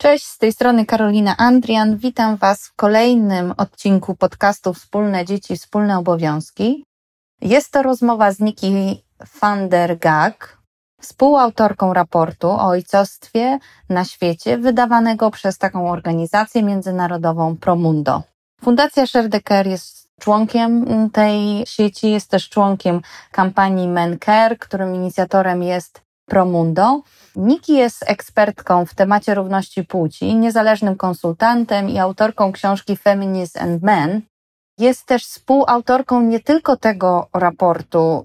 Cześć, z tej strony Karolina Andrian. Witam Was w kolejnym odcinku podcastu Wspólne Dzieci, Wspólne Obowiązki. Jest to rozmowa z Nikki van der Gag, współautorką raportu o ojcostwie na świecie wydawanego przez taką organizację międzynarodową Promundo. Fundacja Share the Care jest członkiem tej sieci, jest też członkiem kampanii Men Care, którym inicjatorem jest Promundo. Nikki jest ekspertką w temacie równości płci, niezależnym konsultantem i autorką książki Feminism and Men. Jest też współautorką nie tylko tego raportu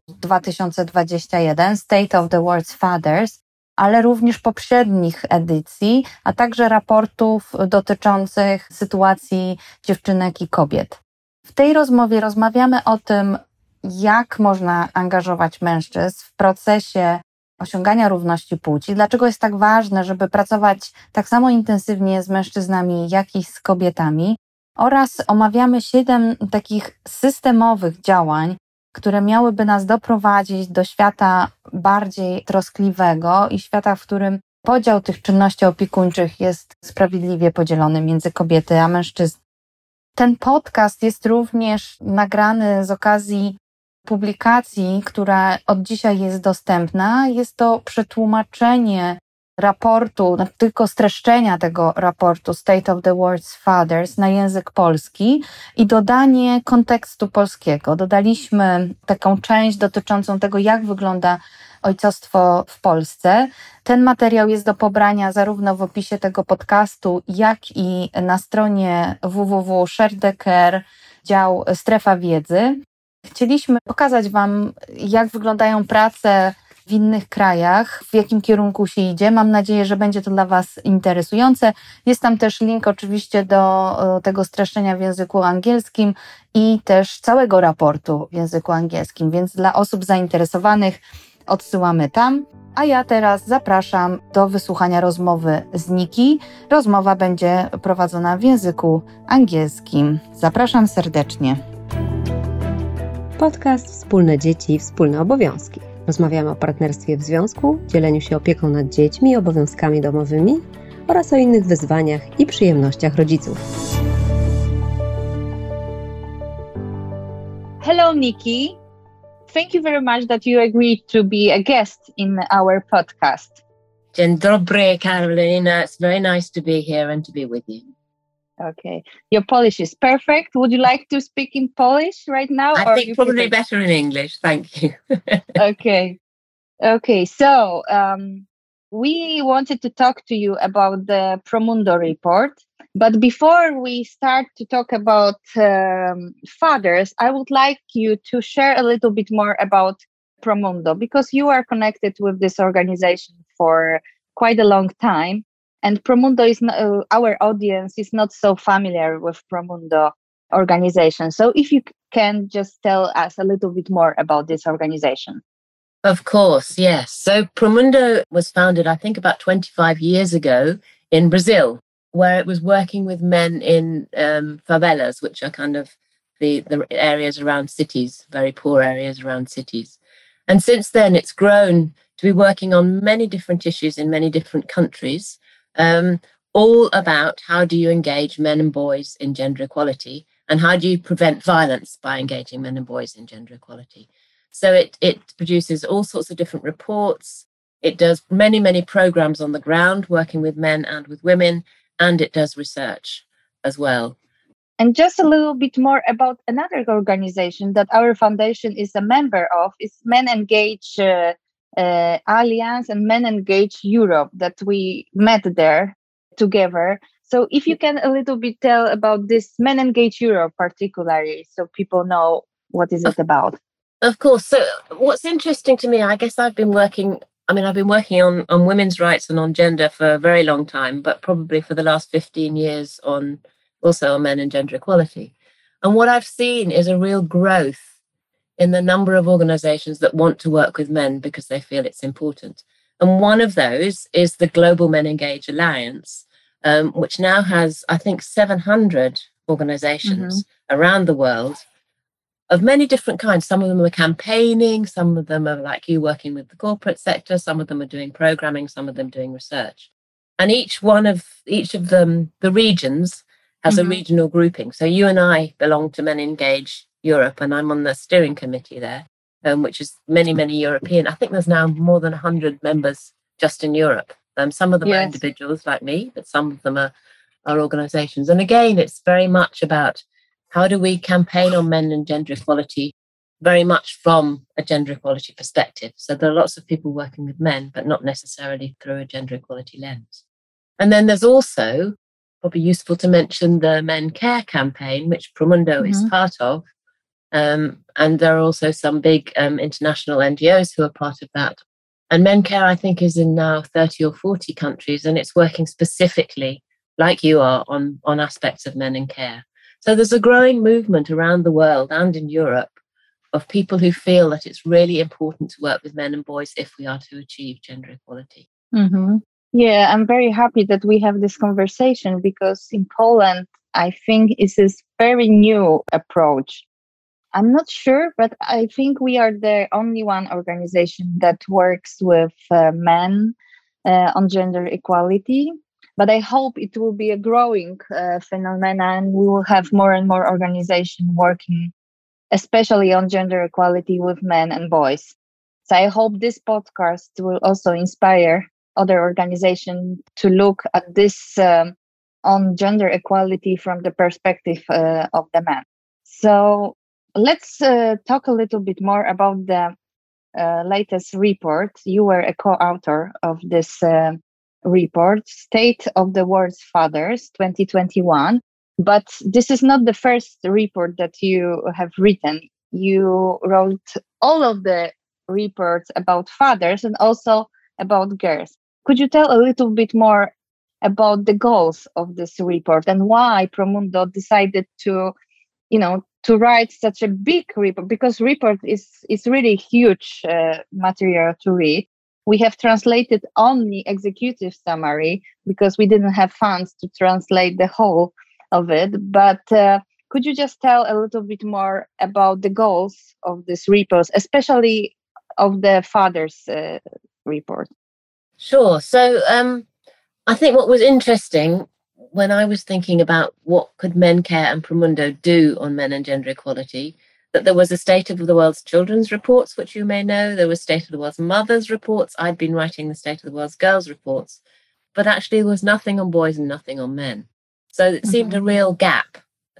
2021 State of the World's Fathers, ale również poprzednich edycji, a także raportów dotyczących sytuacji dziewczynek i kobiet. W tej rozmowie rozmawiamy o tym, jak można angażować mężczyzn w procesie osiągania równości płci, dlaczego jest tak ważne, żeby pracować tak samo intensywnie z mężczyznami, jak i z kobietami, oraz omawiamy 7 takich systemowych działań, które miałyby nas doprowadzić do świata bardziej troskliwego i świata, w którym podział tych czynności opiekuńczych jest sprawiedliwie podzielony między kobiety a mężczyzn. Ten podcast jest również nagrany z okazji publikacji, która od dzisiaj jest dostępna. Jest to przetłumaczenie raportu, tylko streszczenia tego raportu State of the World's Fathers na język polski i dodanie kontekstu polskiego. Dodaliśmy taką część dotyczącą tego, jak wygląda ojcostwo w Polsce. Ten materiał jest do pobrania zarówno w opisie tego podcastu, jak i na stronie www.share-the-care, dział Strefa Wiedzy. Chcieliśmy pokazać Wam, jak wyglądają prace w innych krajach, w jakim kierunku się idzie. Mam nadzieję, że będzie to dla Was interesujące. Jest tam też link oczywiście do tego streszczenia w języku angielskim i też całego raportu w języku angielskim, więc dla osób zainteresowanych odsyłamy tam. A ja teraz zapraszam do wysłuchania rozmowy z Nikki. Rozmowa będzie prowadzona w języku angielskim. Zapraszam serdecznie. Podcast Wspólne Dzieci, Wspólne Obowiązki. Rozmawiamy o partnerstwie w związku, dzieleniu się opieką nad dziećmi i obowiązkami domowymi oraz o innych wyzwaniach i przyjemnościach rodziców. Hello, Nikki. Thank you very much that you agreed to be a guest in our podcast. Dzień dobry, Karolina. It's very nice to be here and to be with you. Okay. Your Polish is perfect. Would you like to speak in Polish right now? I think probably better in English. Thank you. Okay. So we wanted to talk to you about the Promundo report. But before we start to talk about fathers, I would like you to share a little bit more about Promundo, because you are connected with this organization for quite a long time. And Promundo is not, our audience is not so familiar with Promundo organization. So if you can just tell us a little bit more about this organization. Of course, yes. So Promundo was founded, I think, about 25 years ago in Brazil, where it was working with men in favelas, which are kind of the areas around cities, very poor areas around cities. And since then, it's grown to be working on many different issues in many different countries. All about how do you engage men and boys in gender equality, and how do you prevent violence by engaging men and boys in gender equality. So it produces all sorts of different reports. It does many programs on the ground, working with men and with women, and it does research as well. And just a little bit more about another organization that our foundation is a member of, is Men Engage Alliance and Men Engage Europe, that we met there together. So if you can a little bit tell about this Men Engage Europe particularly, so people know what is it about. Of course. So what's interesting to me, I guess I've been working on women's rights and on gender for a very long time, but probably for the last 15 years on men and gender equality. And what I've seen is a real growth in the number of organizations that want to work with men because they feel it's important. And one of those is the Global Men Engage Alliance, which now has, I think, 700 organizations around the world of many different kinds. Some of them are campaigning, some of them are like you working with the corporate sector, some of them are doing programming, some of them doing research. And each of them, the regions, has a regional grouping. So you and I belong to Men Engage Europe, and I'm on the steering committee there, which is many, many European. I think there's now more than 100 members just in Europe. Some of them are individuals like me, but some of them are organisations. And again, it's very much about how do we campaign on men and gender equality, very much from a gender equality perspective. So there are lots of people working with men, but not necessarily through a gender equality lens. And then there's also, probably useful to mention, the Men Care campaign, which Promundo is part of. And there are also some big international NGOs who are part of that. And Men Care, I think, is in now 30 or 40 countries, and it's working specifically, like you are, on aspects of men in care. So there's a growing movement around the world and in Europe of people who feel that it's really important to work with men and boys if we are to achieve gender equality. Yeah, I'm very happy that we have this conversation, because in Poland, I think it's this very new approach. I'm not sure, but I think we are the only one organization that works with men on gender equality. But I hope it will be a growing phenomenon, and we will have more and more organizations working, especially on gender equality with men and boys. So I hope this podcast will also inspire other organizations to look at this on gender equality from the perspective of the man. So let's talk a little bit more about the latest report. You were a co-author of this report, State of the World's Fathers 2021. But this is not the first report that you have written. You wrote all of the reports about fathers and also about girls. Could you tell a little bit more about the goals of this report and why Promundo decided to write such a big report? Because report is really huge material to read. We have translated only executive summary because we didn't have funds to translate the whole of it. But could you just tell a little bit more about the goals of this report, especially of the fathers report? Sure. So I think what was interesting when I was thinking about what could Men Care and Promundo do on men and gender equality, that there was a State of the World's Children's reports, which you may know. There was State of the World's Mothers reports. I'd been writing the State of the World's Girls reports. But actually there was nothing on boys and nothing on men. So it seemed a real gap.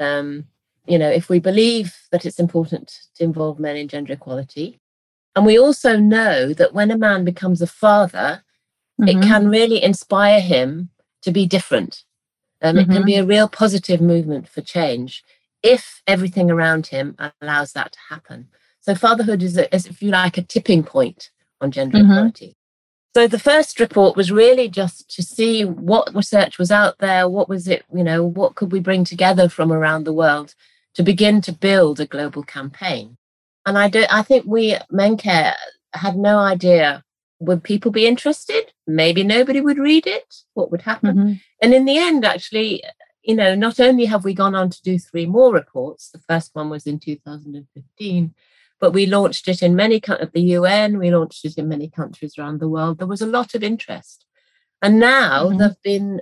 If we believe that it's important to involve men in gender equality, and we also know that when a man becomes a father, it can really inspire him to be different. It can be a real positive movement for change if everything around him allows that to happen. So fatherhood is if you like, a tipping point on gender equality. So the first report was really just to see what research was out there, what was it, what could we bring together from around the world to begin to build a global campaign. And I think we at Men Care had no idea, would people be interested? Maybe nobody would read it. What would happen? And in the end, actually, not only have we gone on to do 3 more reports, the first one was in 2015, but we launched it in many countries at the UN, we launched it in many countries around the world. There was a lot of interest. And now there've been,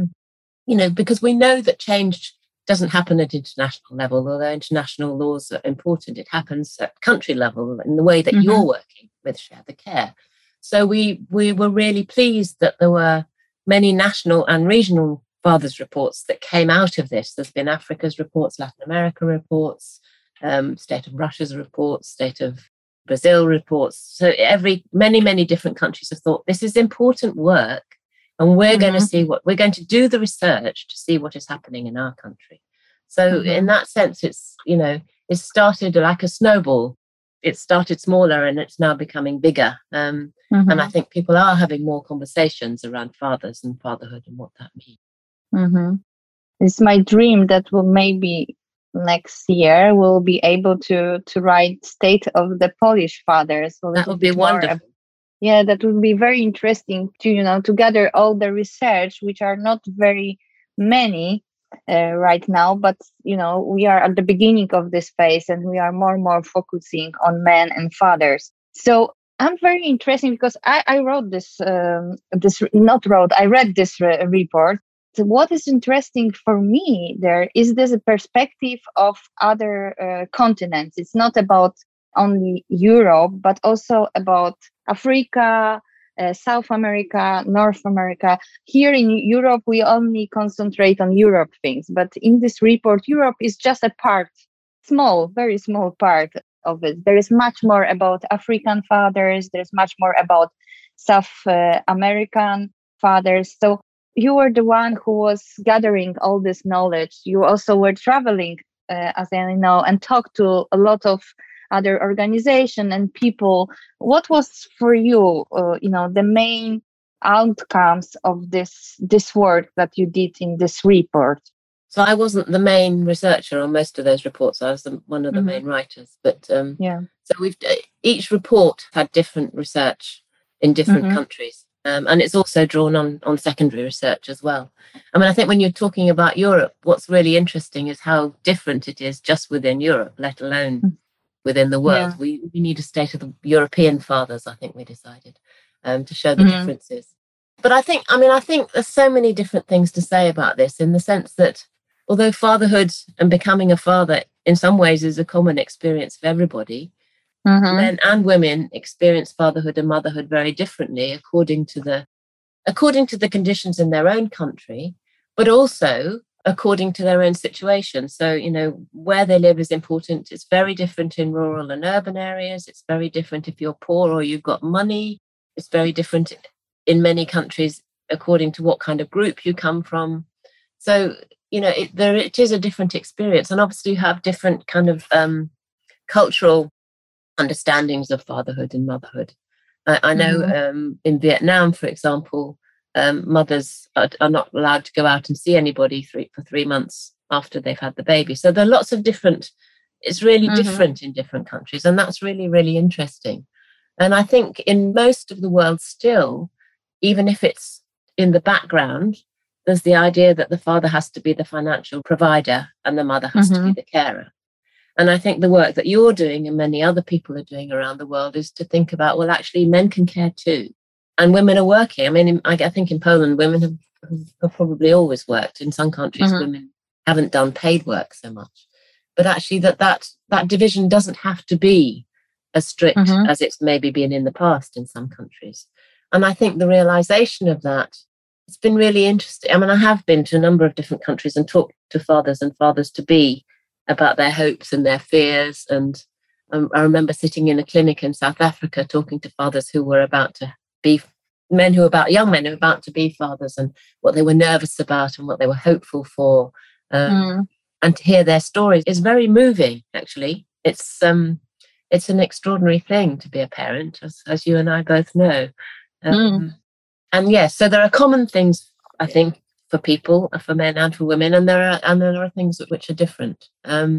because we know that change doesn't happen at international level, although international laws are important, it happens at country level in the way that you're working with Share the Care. So we were really pleased that there were many national and regional fathers reports that came out of this. There's been Africa's reports, Latin America reports, State of Russia's reports, State of Brazil reports. So many, many different countries have thought this is important work, and we're going to see we're going to do the research to see what is happening in our country. So in that sense, it's, it started like a snowball. It started smaller and it's now becoming bigger. And I think people are having more conversations around fathers and fatherhood and what that means. It's my dream that maybe next year we'll be able to write State of the Polish Fathers. That would be wonderful. That would be very interesting to gather all the research, which are not very many right now, but we are at the beginning of this phase and we are more and more focusing on men and fathers. So I'm very interesting because I wrote this, I read this report. So what is interesting for me there is this a perspective of other continents. It's not about only Europe, but also about Africa, South America, North America. Here in Europe, we only concentrate on Europe things, but in this report, Europe is just a part, small, very small part of it. There is much more about African fathers. There's much more about South American fathers. So you were the one who was gathering all this knowledge. You also were traveling, as I know, and talked to a lot of other organizations and people. What was for you, the main outcomes of this work that you did in this report? So I wasn't the main researcher on most of those reports. I was one of the main writers. But so each report had different research in different countries. And it's also drawn on secondary research as well. I mean, I think when you're talking about Europe, what's really interesting is how different it is just within Europe, let alone within the world. We need a state of the European fathers, I think we decided, to show the differences. But I think there's so many different things to say about this, in the sense that although fatherhood and becoming a father in some ways is a common experience for everybody, men and women experience fatherhood and motherhood very differently according to the conditions in their own country, but also according to their own situation. So, where they live is important. It's very different in rural and urban areas. It's very different if you're poor or you've got money. It's very different in many countries according to what kind of group you come from. So, it is a different experience. And obviously you have different kind of cultural understandings of fatherhood and motherhood. I know in Vietnam, for example, mothers are not allowed to go out and see anybody for 3 months after they've had the baby. So there are lots of it's really different in different countries. And that's really, really interesting. And I think in most of the world still, even if it's in the background, there's the idea that the father has to be the financial provider and the mother has to be the carer. And I think the work that you're doing and many other people are doing around the world is to think about, well, actually, men can care too. And women are working. I mean, I think in Poland, women have probably always worked. In some countries, women haven't done paid work so much. But actually, that division doesn't have to be as strict as it's maybe been in the past in some countries. And I think the realization of that, it's been really interesting. I mean, I have been to a number of different countries and talked to fathers and fathers-to-be about their hopes and their fears. And I remember sitting in a clinic in South Africa talking to fathers who were about to be young men who were about to be fathers, and what they were nervous about and what they were hopeful for. And to hear their stories is very moving, actually. It's an extraordinary thing to be a parent, as you and I both know. And yes, so there are common things, I think, for people, for men and for women, and there are things which are different. I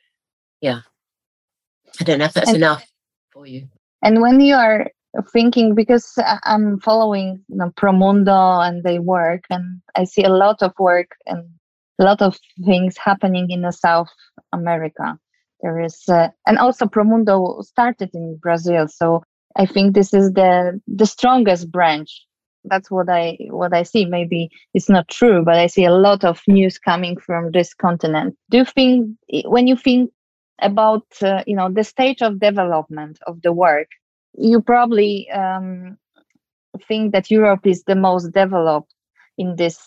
don't know if that's enough for you. And when you are thinking, because I'm following Promundo and they work, and I see a lot of work and a lot of things happening in South America. There is, and also Promundo started in Brazil, so I think this is the strongest branch. That's what I see. Maybe it's not true, but I see a lot of news coming from this continent. Do you think, when you think about the stage of development of the work, you probably think that Europe is the most developed in this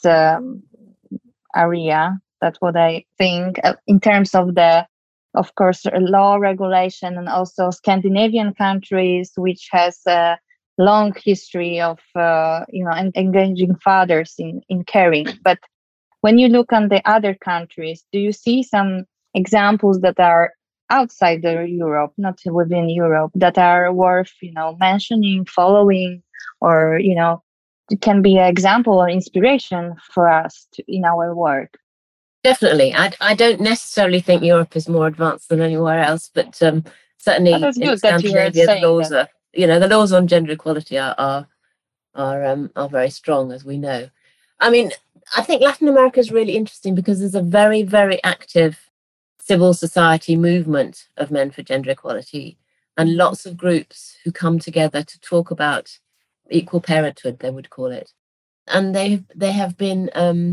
area? That's what I think, in terms of of course, law regulation, and also Scandinavian countries, which has a long history of engaging fathers in caring. But when you look on the other countries, do you see some examples that are outside Europe, not within Europe, that are worth mentioning, following, or it can be an example or inspiration for us in our work? Definitely. I don't necessarily think Europe is more advanced than anywhere else, but certainly in Scandinavia, the laws are, the laws on gender equality are very strong, as we know. I mean, I think Latin America is really interesting because there's a very, very active civil society movement of men for gender equality. and lots of groups who come together to talk about equal parenthood, they would call it. And they have been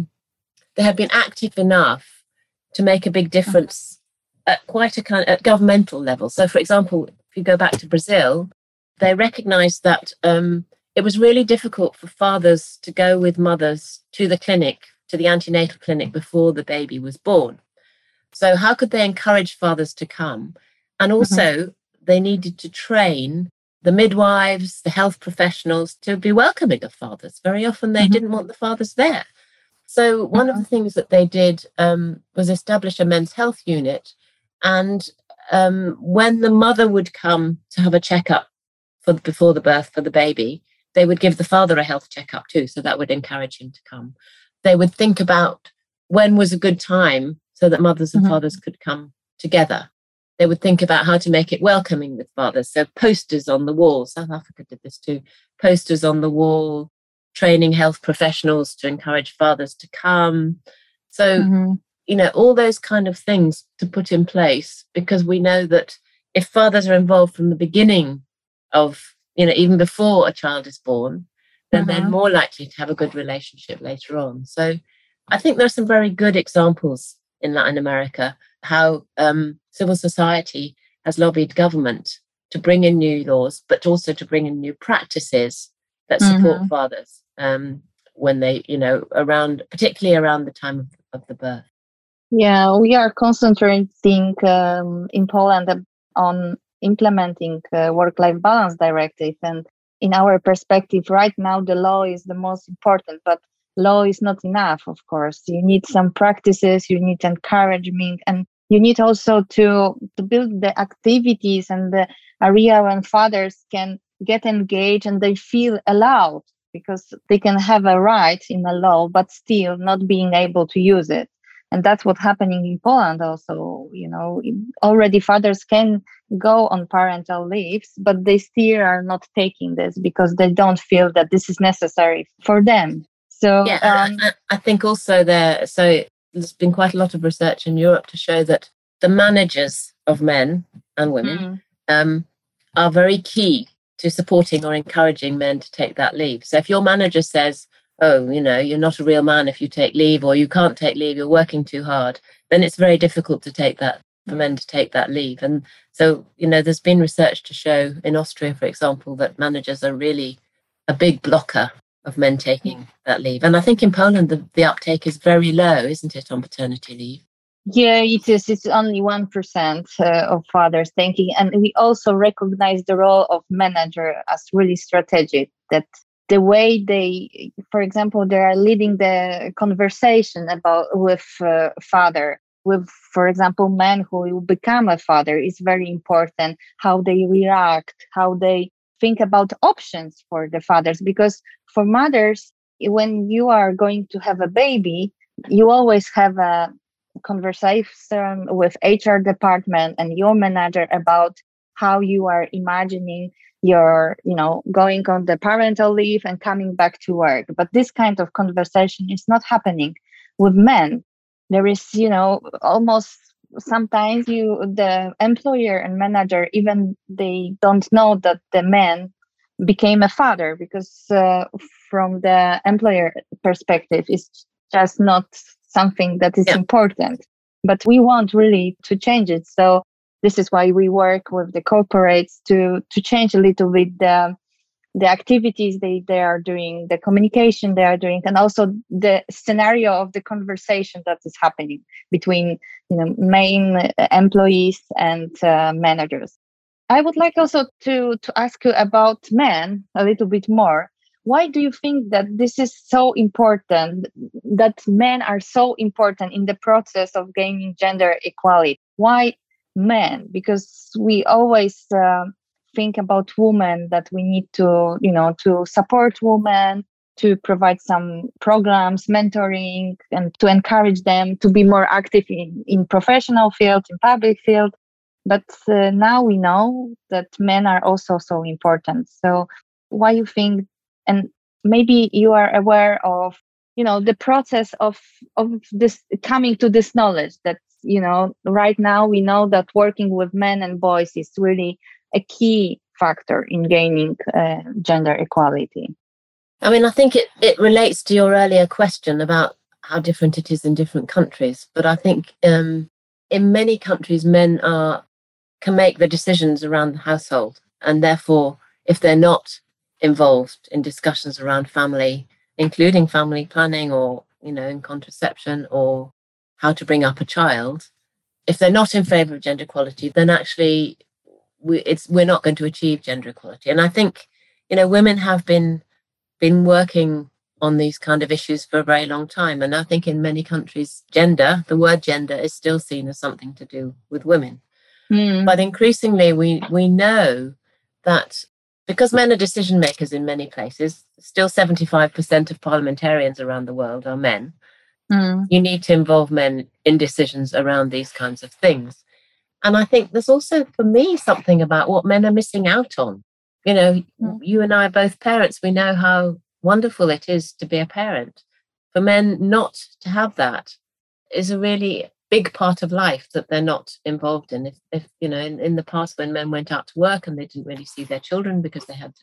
active enough to make a big difference at quite at governmental level. So, for example, if you go back to Brazil, they recognised that it was really difficult for fathers to go with mothers to the clinic, to the antenatal clinic before the baby was born. So how could they encourage fathers to come? And also they needed to train the midwives, the health professionals to be welcoming of fathers. Very often they didn't want the fathers there. So one of the things that they did was establish a men's health unit. And when the mother would come to have a checkup before the birth for the baby, they would give the father a health checkup too. So that would encourage him to come. They would think about when was a good time so that mothers and fathers could come together. They would think about how to make it welcoming with fathers. So posters on the wall, South Africa did this too, posters on the wall, training health professionals to encourage fathers to come. So, all those kind of things to put in place, because we know that if fathers are involved from the beginning of, even before a child is born, then they're more likely to have a good relationship later on. So I think there are some very good examples in Latin America, how civil society has lobbied government to bring in new laws, but also to bring in new practices that support fathers when they, particularly around the time of the birth. Yeah, we are concentrating in Poland on implementing work-life balance directive. And in our perspective, right now, the law is the most important, but law is not enough, of course. You need some practices, you need encouragement, and you need also to build the activities and the area when fathers can get engaged and they feel allowed, because they can have a right in the law, but still not being able to use it. And that's what's happening in Poland also. Already fathers can go on parental leaves, but they still are not taking this because they don't feel that this is necessary for them. So I think also there's been quite a lot of research in Europe to show that the managers of men and women are very key to supporting or encouraging men to take that leave. So if your manager says, oh, you're not a real man if you take leave, or you can't take leave, you're working too hard, then it's very difficult for men to take that leave. And so, there's been research to show in Austria, for example, that managers are really a big blocker of men taking that leave. And I think in Poland, the uptake is very low, isn't it, on paternity leave? Yeah, it is. It's only 1% of fathers taking. And we also recognize the role of manager as really strategic, that the way they, for example, they are leading the conversation with father, with, for example, men who will become a father is very important, how they react, how they think about options for the fathers. Because for mothers, when you are going to have a baby, you always have a conversation with HR department and your manager about how you are imagining your, going on the parental leave and coming back to work. But this kind of conversation is not happening with men. There is, almost sometimes the employer and manager, even they don't know that the man became a father, because from the employer perspective, it's just not something that is important. But we want really to change it. So this is why we work with the corporates to change a little bit the activities they are doing, the communication they are doing, and also the scenario of the conversation that is happening between main employees and managers. I would like also to ask you about men a little bit more. Why do you think that this is so important, that men are so important in the process of gaining gender equality? Why men? Because we always think about women, that we need to, to support women, to provide some programs, mentoring, and to encourage them to be more active in professional field, in public field. But now we know that men are also so important. So why you think, and maybe you are aware of, the process of this coming to this knowledge that, right now we know that working with men and boys is really a key factor in gaining gender equality? I mean, I think it relates to your earlier question about how different it is in different countries. But I think in many countries, men can make the decisions around the household. And therefore, if they're not involved in discussions around family, including family planning or, in contraception or how to bring up a child, if they're not in favour of gender equality, then actually we're not going to achieve gender equality. And I think, women have been working on these kind of issues for a very long time. And I think in many countries, the word gender is still seen as something to do with women. But increasingly, we know that because men are decision makers in many places, still 75% of parliamentarians around the world are men. You need to involve men in decisions around these kinds of things. And I think there's also, for me, something about what men are missing out on. You and I are both parents. We know how wonderful it is to be a parent. For men not to have that is a really big part of life that they're not involved in. If in the past when men went out to work and they didn't really see their children because they had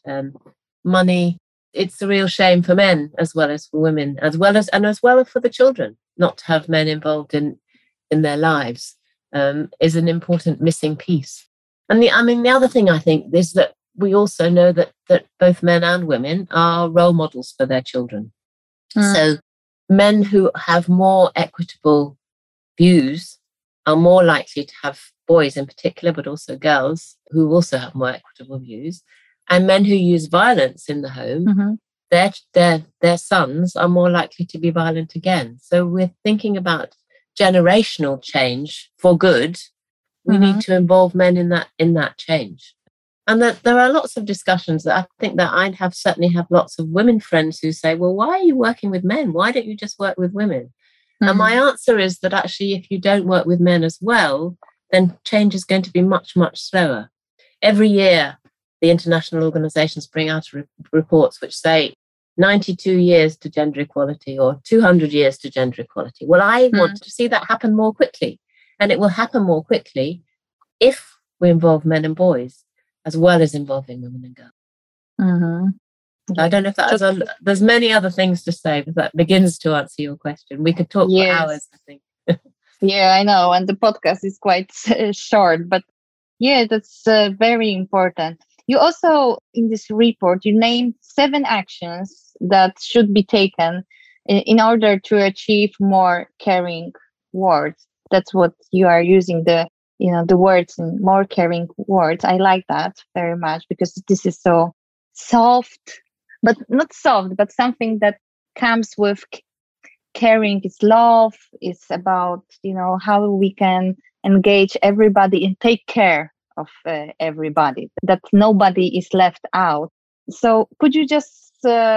money, it's a real shame for men as well as for women, as well as for the children, not to have men involved in their lives is an important missing piece. And the other thing I think is that we also know that both men and women are role models for their children. So men who have more equitable views are more likely to have boys in particular, but also girls who also have more equitable views. And men who use violence in the home, their sons are more likely to be violent again. So we're thinking about generational change for good. We need to involve men in that change. And that there are lots of discussions that I think that I certainly have lots of women friends who say, well, why are you working with men? Why don't you just work with women? And my answer is that actually, if you don't work with men as well, then change is going to be much, much slower. Every year, the international organizations bring out reports which say 92 years to gender equality or 200 years to gender equality. Well, I want to see that happen more quickly. And it will happen more quickly if we involve men and boys, as well as involving women and girls. I don't know if there's many other things to say, but that begins to answer your question. We could talk for hours, I think. Yeah, I know. And the podcast is quite short, but that's very important. You also, in this report, you named 7 actions that should be taken in order to achieve more caring words. That's what you are using, the words in more caring words. I like that very much because this is so soft, but not soft, but something that comes with caring. Is love. It's about, how we can engage everybody and take care of everybody, that nobody is left out. So could you just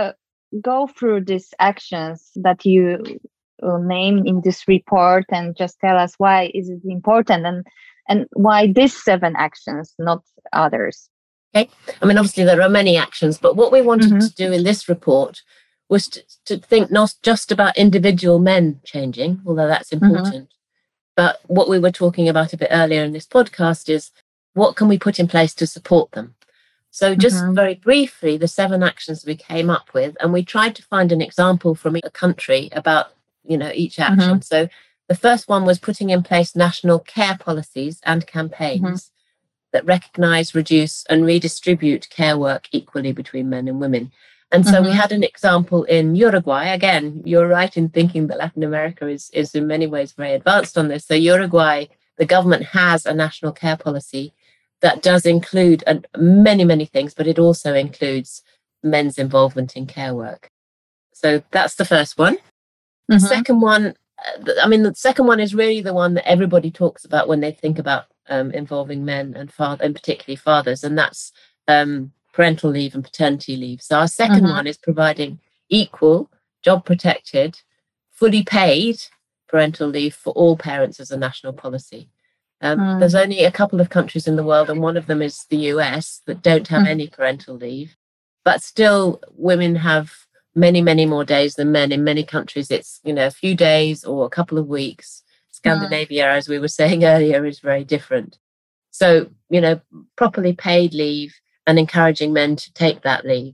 go through these actions that you name in this report and just tell us why is it important and why these 7 actions, not others? Okay. I mean, obviously there are many actions, but what we wanted to do in this report was to think not just about individual men changing, although that's important, but what we were talking about a bit earlier in this podcast is what can we put in place to support them? So just very briefly, the 7 actions we came up with, and we tried to find an example from a country about, each action. So the first one was putting in place national care policies and campaigns that recognise, reduce and redistribute care work equally between men and women. And so we had an example in Uruguay. Again, you're right in thinking that Latin America is in many ways very advanced on this. So Uruguay, the government has a national care policy that does include many, many things, but it also includes men's involvement in care work. So that's the first one. The second one, the second one is really the one that everybody talks about when they think about involving men and particularly fathers, and that's parental leave and paternity leave. So our second one is providing equal, job-protected, fully paid parental leave for all parents as a national policy. There's only a couple of countries in the world, and one of them is the US, that don't have any parental leave. But still, women have many, many more days than men. In many countries, it's, a few days or a couple of weeks. Scandinavia, as we were saying earlier, is very different. So, properly paid leave and encouraging men to take that leave.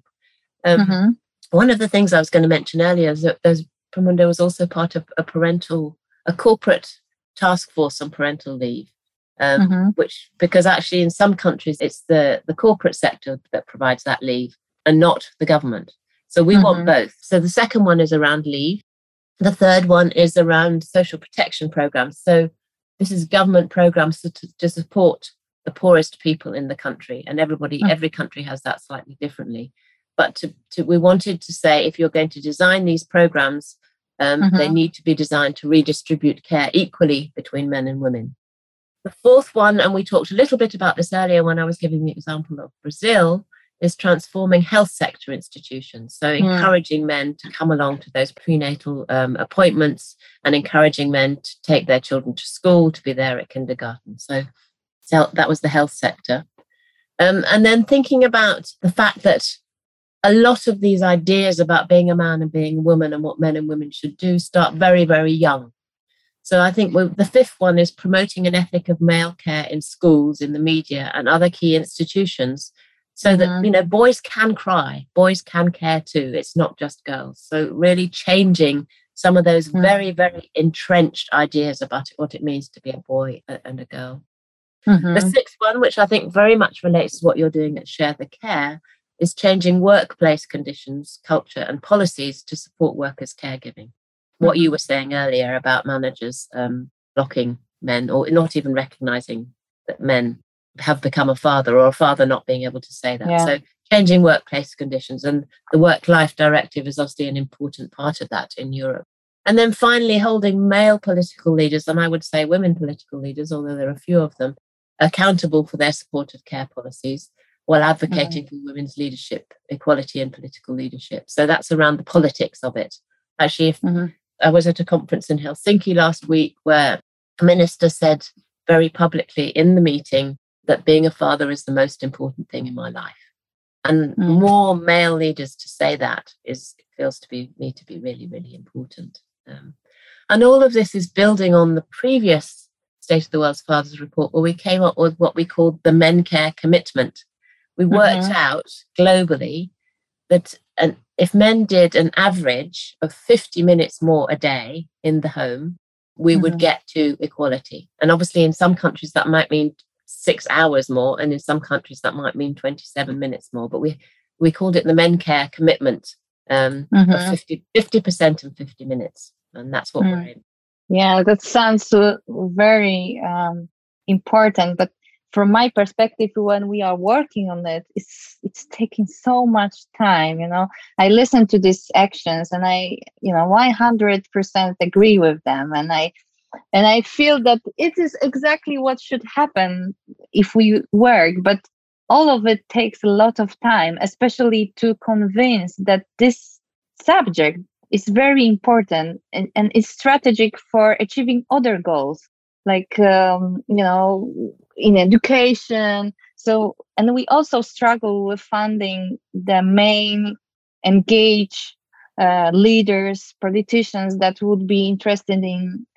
One of the things I was going to mention earlier is that Promundo was also part of a corporate task force on parental leave, which, because actually in some countries it's the corporate sector that provides that leave and not the government. So we want both. So the second one is around leave. The third one is around social protection programs. So this is government programs to support the poorest people in the country, and every country has that slightly differently. But we wanted to say, if you're going to design these programs, they need to be designed to redistribute care equally between men and women. The fourth one, and we talked a little bit about this earlier when I was giving the example of Brazil, is transforming health sector institutions. So encouraging men to come along to those prenatal appointments and encouraging men to take their children to school, to be there at kindergarten. So that was the health sector. And then thinking about the fact that a lot of these ideas about being a man and being a woman and what men and women should do start very, very young. So I think the fifth one is promoting an ethic of male care in schools, in the media and other key institutions, so that, boys can cry, boys can care too. It's not just girls. So really changing some of those very, very entrenched ideas about what it means to be a boy and a girl. The sixth one, which I think very much relates to what you're doing at Share the Care, is changing workplace conditions, culture and policies to support workers' caregiving. What you were saying earlier about managers blocking men or not even recognising that men have become a father, or a father not being able to say that. So changing workplace conditions, and the Work-Life Directive is obviously an important part of that in Europe. And then finally holding male political leaders, and I would say women political leaders, although there are a few of them, accountable for their support of care policies while advocating for women's leadership, equality and political leadership. So that's around the politics of it. Actually, I was at a conference in Helsinki last week where a minister said very publicly in the meeting that being a father is the most important thing in my life. And more male leaders to say that feels to me to be really, really important. And all of this is building on the previous State of the World's Fathers report, where we came up with what we called the Men Care Commitment. We worked out globally that if men did an average of 50 minutes more a day in the home, we would get to equality. And obviously in some countries that might mean 6 hours more, and in some countries that might mean 27 minutes more. But we called it the Men Care Commitment of 50% and 50 minutes. And that's what we're in. Yeah, that sounds very important. But from my perspective, when we are working on it, it's taking so much time. I listen to these actions and I 100% agree with them. And I feel that it is exactly what should happen if we work. But all of it takes a lot of time, especially to convince that this subject is very important and is strategic for achieving other goals, like, in education. So, and we also struggle with finding the main engaged leaders, politicians that would be interested in,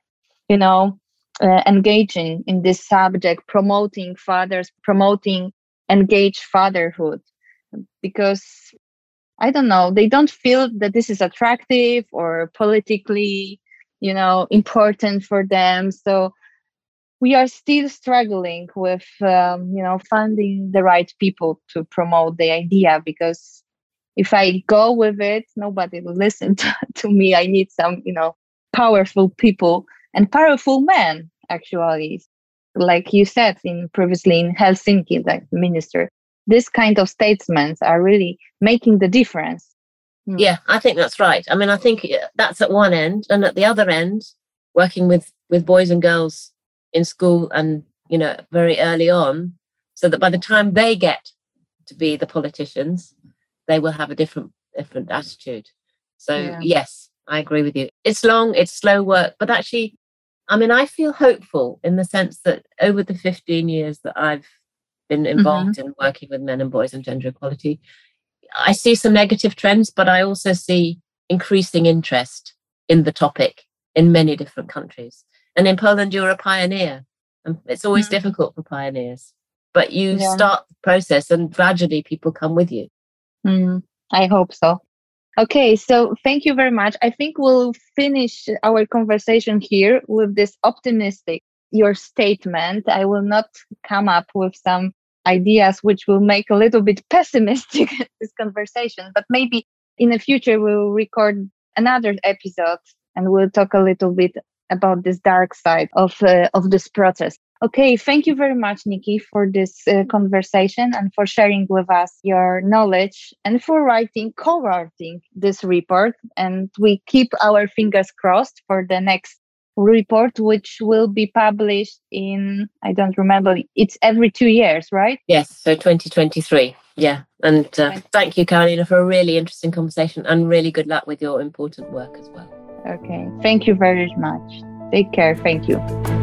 engaging in this subject, promoting fathers, promoting engaged fatherhood, because I don't know, they don't feel that this is attractive or politically, important for them. So we are still struggling with, finding the right people to promote the idea, because if I go with it, nobody will listen to me. I need some, powerful people and powerful men, actually. Like you said previously in Helsinki, like the minister, this kind of statesmen are really making the difference. Yeah, I think that's right. I mean, I think that's at one end, and at the other end, working with boys and girls in school and, very early on, so that by the time they get to be the politicians, they will have a different attitude. So yes, I agree with you. It's long, it's slow work, but actually, I mean, I feel hopeful in the sense that over the 15 years that I've been involved in working with men and boys and gender equality, I see some negative trends, but I also see increasing interest in the topic in many different countries. And in Poland, you're a pioneer. And it's always difficult for pioneers. but you start the process and gradually people come with you. I hope so. Okay, so thank you very much. I think we'll finish our conversation here with this optimistic, your statement. I will not come up with some ideas which will make a little bit pessimistic this conversation, but maybe in the future we'll record another episode and we'll talk a little bit about this dark side of this process. Okay, thank you very much, Nikki, for this conversation and for sharing with us your knowledge and for co-writing this report. And we keep our fingers crossed for the next report, which will be published in, I don't remember, it's every 2 years, right? Yes, so 2023. Yeah. And thank you, Karolina, for a really interesting conversation and really good luck with your important work as well. Okay, thank you very much. Take care. Thank you.